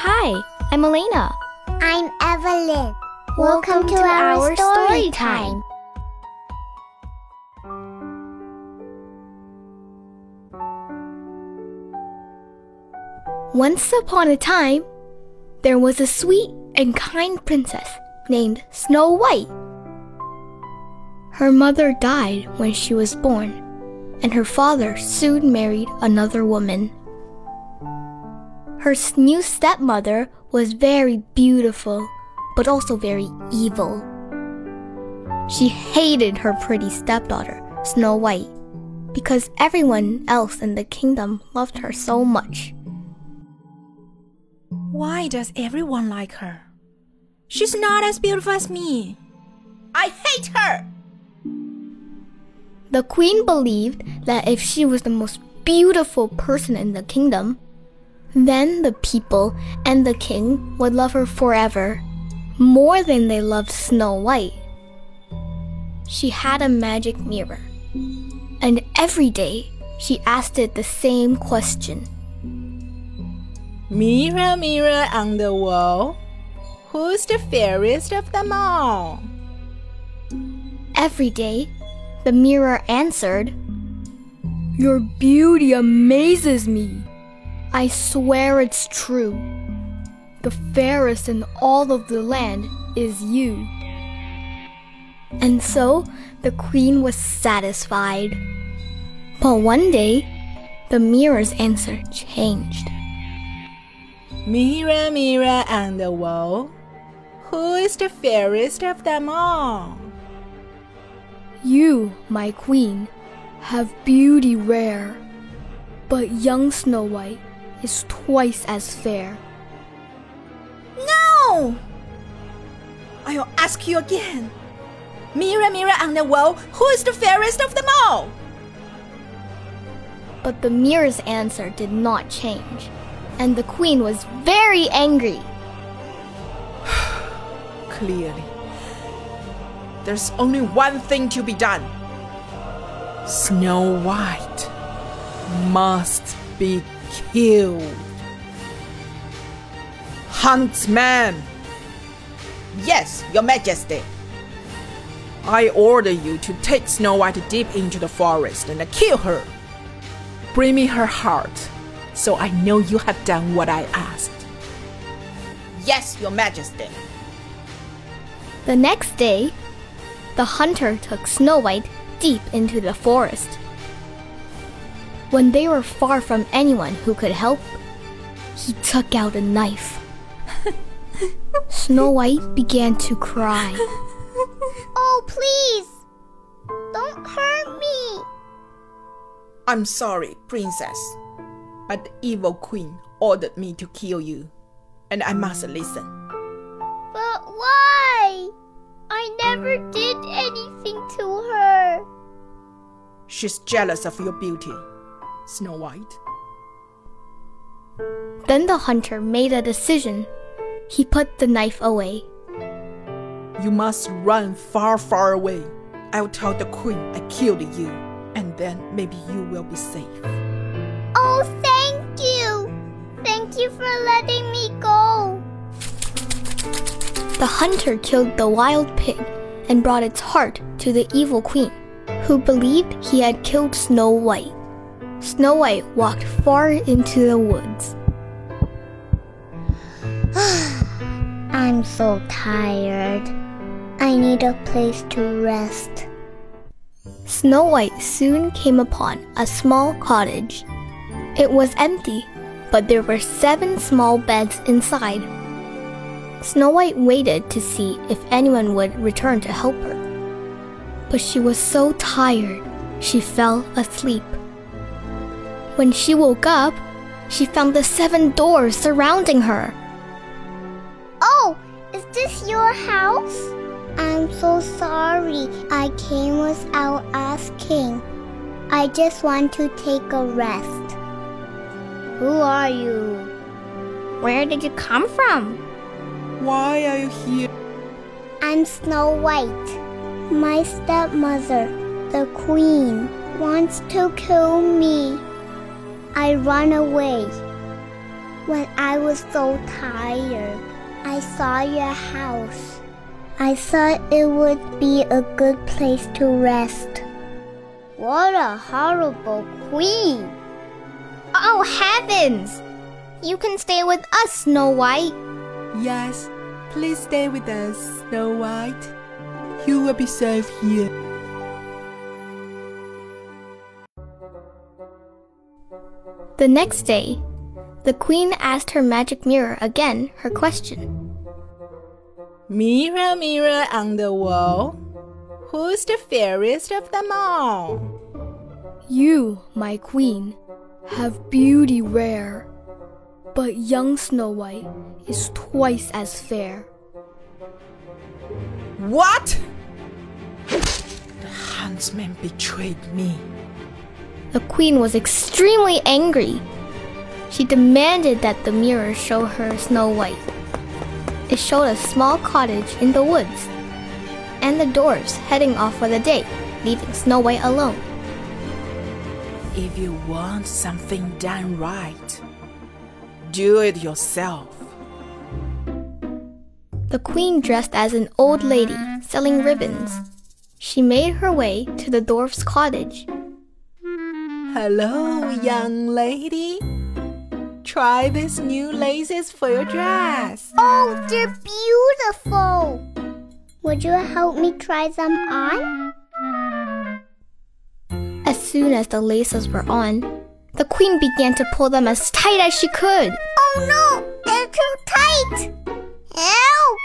Hi, I'm Elena. I'm Evelyn. Welcome to our story time. Once upon a time, there was a sweet and kind princess named Snow White. Her mother died when she was born, and her father soon married another woman. Her new stepmother was very beautiful, but also very evil. She hated her pretty stepdaughter, Snow White, because everyone else in the kingdom loved her so much. Why does everyone like her? She's not as beautiful as me. I hate her! The queen believed that if she was the most beautiful person in the kingdom, then the people and the king would love her forever, more than they loved Snow White. She had a magic mirror, and every day she asked it the same question. Mirror, mirror on the wall, who's the fairest of them all? Every day, the mirror answered, "Your beauty amazes me. I swear it's true. The fairest in all of the land is you." And so the queen was satisfied. But one day, the mirror's answer changed. Mirror, mirror on the wall, who is the fairest of them all? You, my queen, have beauty rare, but young Snow White is twice as fair. No! I'll ask you again. Mirror, mirror on the wall, who is the fairest of them all? But the mirror's answer did not change, and the queen was very angry. Clearly, there's only one thing to be done. Snow White must be killed. Huntsman! Yes, Your Majesty. I order you to take Snow White deep into the forest and kill her. Bring me her heart, so I know you have done what I asked. Yes, Your Majesty. The next day, the hunter took Snow White deep into the forest. When they were far from anyone who could help, he took out a knife. Snow White began to cry. Oh, please! Don't hurt me! I'm sorry, Princess, but the evil queen ordered me to kill you, and I must listen. But why? I never did anything to her. She's jealous of your beauty, Snow White. Then the hunter made a decision. He put the knife away. You must run far, far away. I'll tell the queen I killed you, and then maybe you will be safe. Oh, thank you! Thank you for letting me go. The hunter killed the wild pig and brought its heart to the evil queen, who believed he had killed Snow White. Snow White walked far into the woods. I'm so tired. I need a place to rest. Snow White soon came upon a small cottage. It was empty, but there were 7 small beds inside. Snow White waited to see if anyone would return to help her. But she was so tired, she fell asleep. When she woke up, she found the 7 doors surrounding her. Oh, is this your house? I'm so sorry. I came without asking. I just want to take a rest. Who are you? Where did you come from? Why are you here? I'm Snow White. My stepmother, the queen, wants to kill me. I run away. When I was so tired, I saw your house. I thought it would be a good place to rest. What a horrible queen! Oh, heavens! You can stay with us, Snow White. Yes, please stay with us, Snow White. You will be safe here. The next day, the queen asked her magic mirror again her question. Mirror, mirror on the wall, who's the fairest of them all? You, my queen, have beauty rare, but young Snow White is twice as fair. What? The huntsman betrayed me. The queen was extremely angry. She demanded that the mirror show her Snow White. It showed a small cottage in the woods, and the dwarfs heading off for the day, leaving Snow White alone. If you want something done right, do it yourself. The queen dressed as an old lady selling ribbons. She made her way to the dwarf's cottage. Hello, young lady. Try these new laces for your dress. Oh, they're beautiful! Would you help me try them on? As soon as the laces were on, the queen began to pull them as tight as she could. Oh no! They're too tight! Help!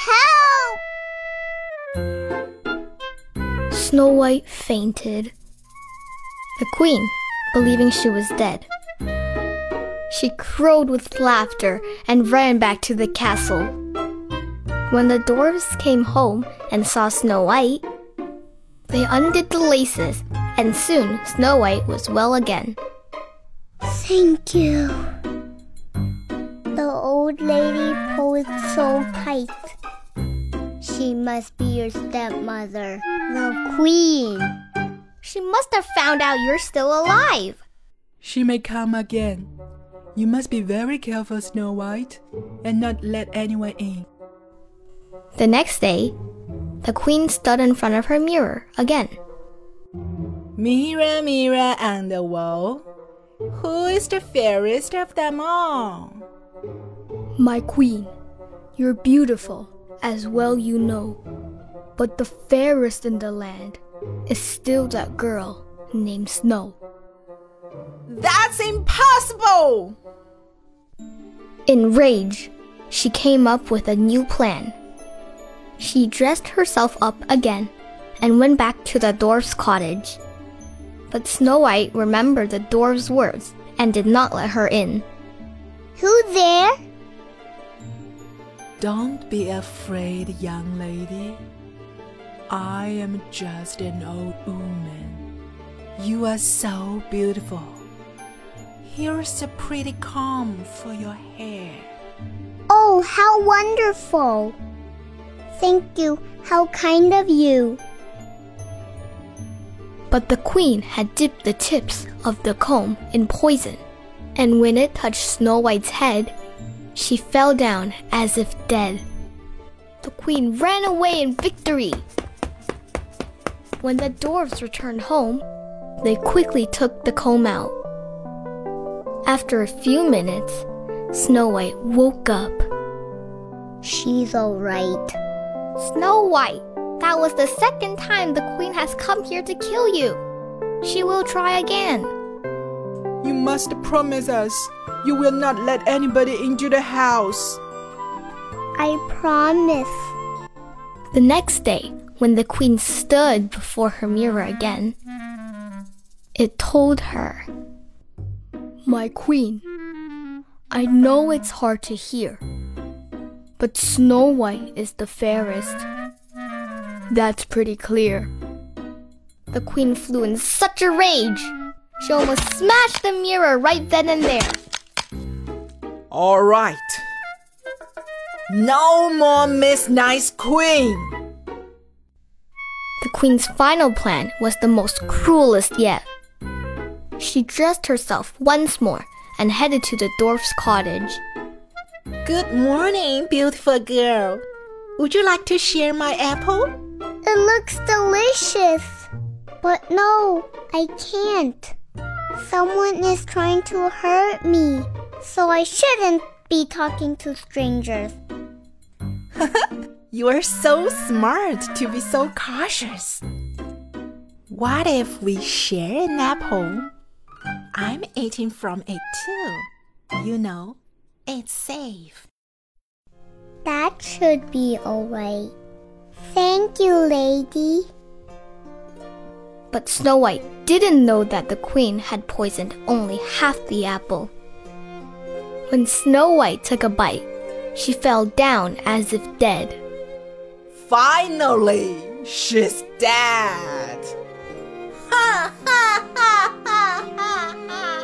Help! Snow White fainted. The queen, believing she was dead, she crowed with laughter and ran back to the castle. When the dwarfs came home and saw Snow White, they undid the laces, and soon Snow White was well again. Thank you. The old lady pulled so tight. She must be your stepmother, the queen. She must have found out you're still alive. She may come again. You must be very careful, Snow White, and not let anyone in. The next day, the queen stood in front of her mirror again. Mirror, mirror on the wall, who is the fairest of them all? My queen, you're beautiful, as well you know. But the fairest in the land is still that girl named Snow. That's impossible! Enraged, she came up with a new plan. She dressed herself up again and went back to the dwarf's cottage. But Snow White remembered the dwarf's words and did not let her in. Who there? Don't be afraid, young lady. I am just an old woman. You are so beautiful. Here's a pretty comb for your hair. Oh, how wonderful! Thank you. How kind of you. But the queen had dipped the tips of the comb in poison, and when it touched Snow White's head, she fell down as if dead. The queen ran away in victory. When the dwarfs returned home, they quickly took the comb out. After a few minutes, Snow White woke up. She's all right. Snow White, that was the second time the queen has come here to kill you. She will try again. You must promise us you will not let anybody into the house. I promise. The next day, when the queen stood before her mirror again, it told her, My queen, I know it's hard to hear, but Snow White is the fairest. That's pretty clear. The queen flew in such a rage, she almost smashed the mirror right then and there. All right. No more Miss Nice Queen. The queen's final plan was the most cruelest yet. She dressed herself once more and headed to the dwarf's cottage. Good morning, beautiful girl. Would you like to share my apple? It looks delicious. But no, I can't. Someone is trying to hurt me, so I shouldn't be talking to strangers. You are so smart to be so cautious. What if we share an apple? I'm eating from it too. You know, it's safe. That should be alright. Thank you, lady. But Snow White didn't know that the queen had poisoned only half the apple. When Snow White took a bite, she fell down as if dead. Finally, she's dead. Ha ha ha ha ha ha.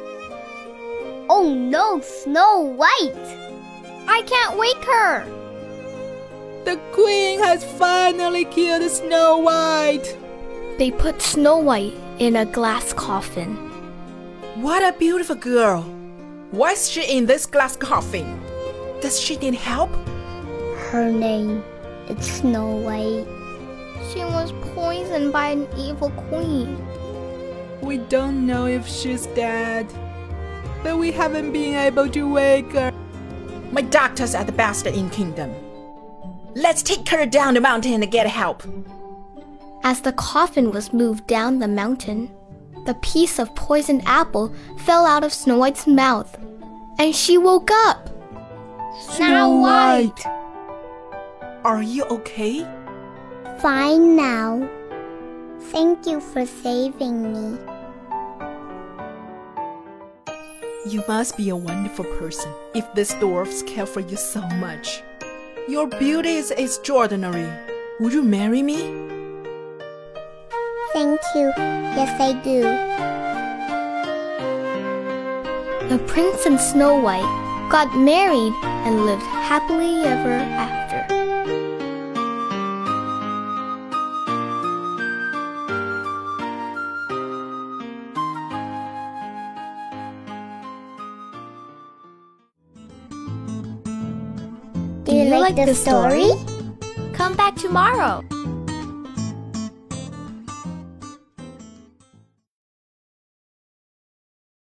Oh no, Snow White! I can't wake her! The queen has finally killed Snow White. They put Snow White in a glass coffin. What a beautiful girl. Why is she in this glass coffin? Does she need help? Her name is Snow White. She was poisoned by an evil queen. We don't know if she's dead, but we haven't been able to wake her. My doctors are the best in kingdom. Let's take her down the mountain and get help. As the coffin was moved down the mountain, the piece of poisoned apple fell out of Snow White's mouth, and she woke up. Snow White! Are you okay? Fine now. Thank you for saving me. You must be a wonderful person if these dwarfs care for you so much. Your beauty is extraordinary. Would you marry me? Thank you. Yes, I do. The prince and Snow White got married and lived happily ever after. Do you like the story? Come back tomorrow.